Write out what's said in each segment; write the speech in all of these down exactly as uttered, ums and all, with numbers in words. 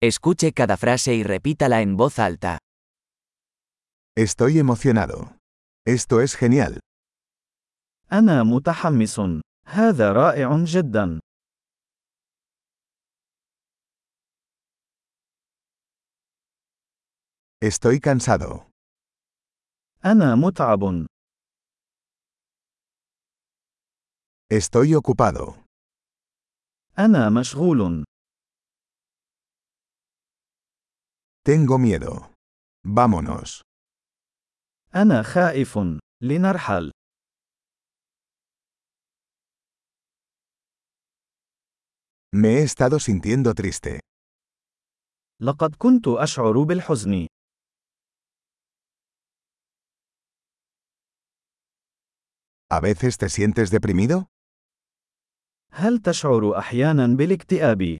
Escuche cada frase y repítala en voz alta. Estoy emocionado. Esto es genial. أنا متحمس. هذا رائع جدا. Estoy cansado. أنا متعب. Estoy ocupado. أنا مشغول. Tengo miedo. Vámonos. أنا خائف. لنرحل. Me he estado sintiendo triste. لقد كنت أشعر بالحزن. ¿A veces te sientes deprimido? هل تشعر أحيانا بالاكتئاب؟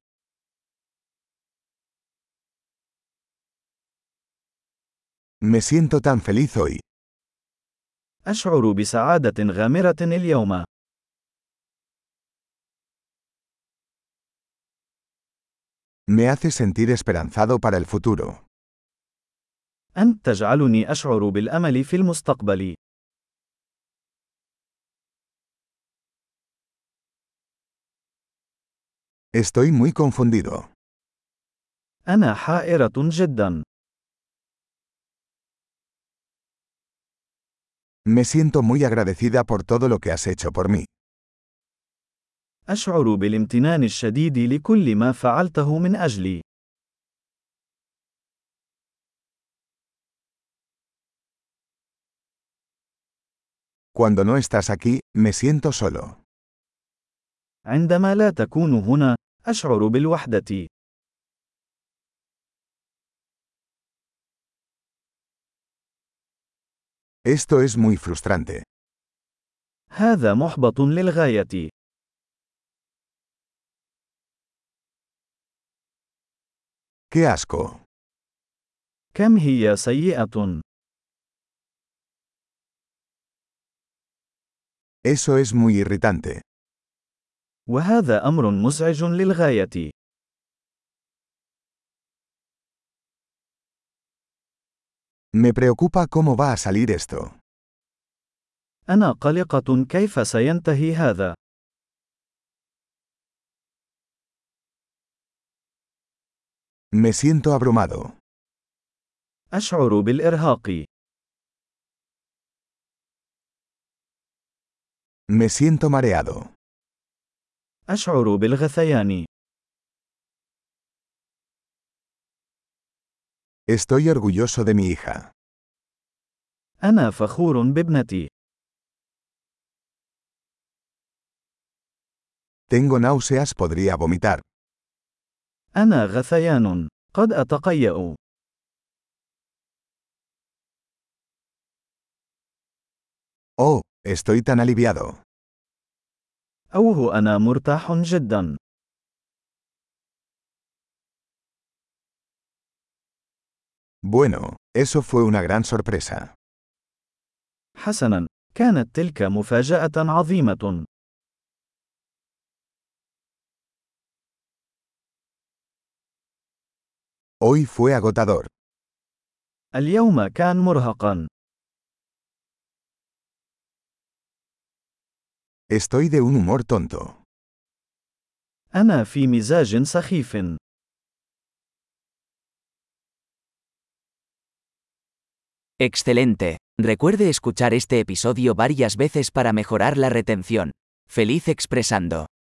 Me siento tan feliz hoy. أشعر بسعادة غامرة اليوم. Me hace sentir esperanzado para el futuro. أنت تجعلني أشعر بالأمل في المستقبل. Estoy muy confundido. أنا حائرة جدا. Me siento muy agradecida por todo lo que has hecho por mí. أشعر بالامتنان الشديد لكل ما فعلته من أجلي. Cuando no estás aquí, me siento solo. عندما لا تكون هنا، أشعر بالوحدة. Esto es muy frustrante. هذا محبط للغاية. ¡Qué asco! كم هي سيئة. Eso es muy irritante. وهذا أمر مزعج للغاية. Me preocupa cómo va a salir esto. أنا قلقة كيف سينتهي هذا. Me siento abrumado. أشعر بالإرهاق. Me siento mareado. أشعر بالغثيان. Estoy orgulloso de mi hija. أنا فخور بابنتي. Tengo náuseas, podría vomitar. أنا غثيان. قد أتقيأ. Oh, estoy tan aliviado. أوه أنا مرتاح جدا. Bueno, eso fue una gran sorpresa. حسنا، كانت تلك مفاجأة عظيمة. Hoy fue agotador. اليوم كان مرهقا. Estoy de un humor tonto. أنا في مزاج سخيف. Excelente. Recuerde escuchar este episodio varias veces para mejorar la retención. Feliz expresando.